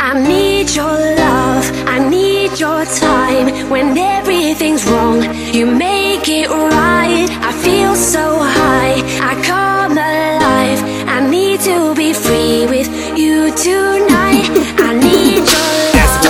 I need your love, I need your time. When everything's wrong, you make it right. I feel so high, I come alive. I need to be free with you tonight. I need your love.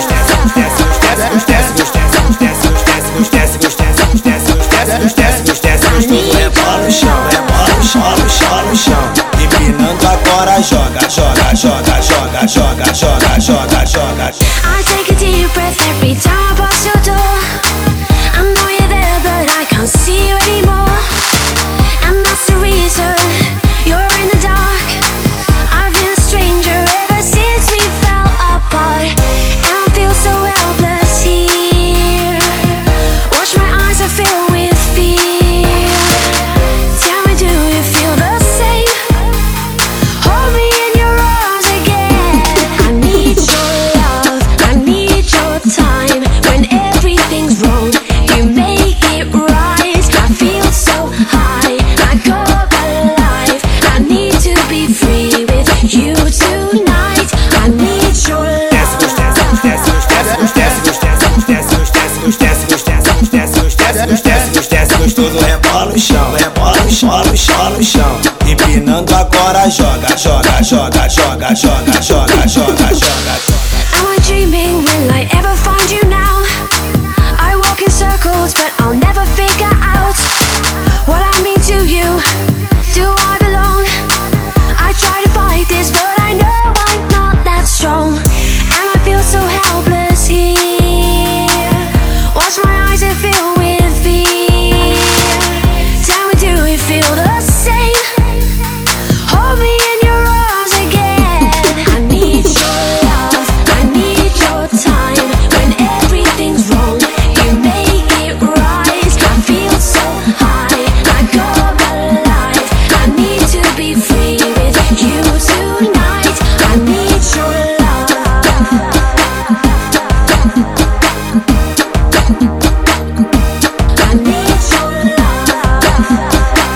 Rebola no chão, rebola no chão, no chão, no chão. Empinando agora, joga, joga, joga, joga, joga, joga, joga, joga. I take a deep breath every time I pass your door. I know you're there, but I can't see you anymore. And that's the reason you're in the dark. I've been a stranger ever since we fell apart. And I feel so helpless here. Watch my eyes are filled with fear. Tell me, do you feel the same? Hold me in your arms again. I need your love, I need your time. When everything's wrong, you make it right. I feel so high, I go alive. I need to be free with you tonight. I need your love. Gostoso, rebola no chão, rebola no chão, no chão, no chão. Empinando agora, joga, joga, joga, joga, joga, joga, joga, joga. Am I dreaming? Will I ever find you now? I walk in circles, but I'll never figure out what I mean to you. Do I belong? I try to fight this, but I know I'm not that strong. And I feel so helpless here. Watch my eyes and filled with fear. Tell me, do you feel the same? Hold me in your arms again. I need your love, I need your time. When everything's wrong, you make it right. I feel so high, I go alive. I need to be free with you tonight. I need your love. I need your love.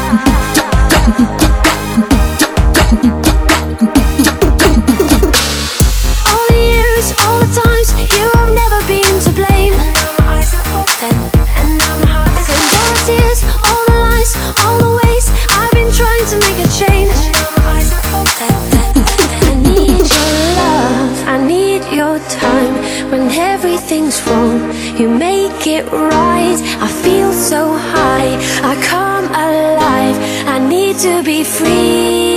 All the years, all the times, you have never been to blame. And now my eyes are open, and now my heart is in. All the tears, all the lies, all the ways I've been trying to make a change. And now my eyes are open. I need your love, I need your time. When everything's wrong, you make it right. I feel so high, I come alive. I need to be free.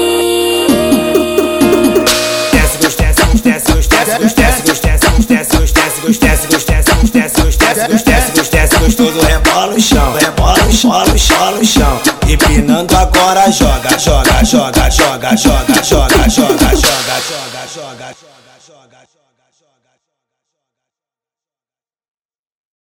Gostoso, rebola no chão, rebola no chão, no chão, no chão. Empinando agora, joga, joga, joga, joga, joga, joga, joga, joga, joga, joga, joga.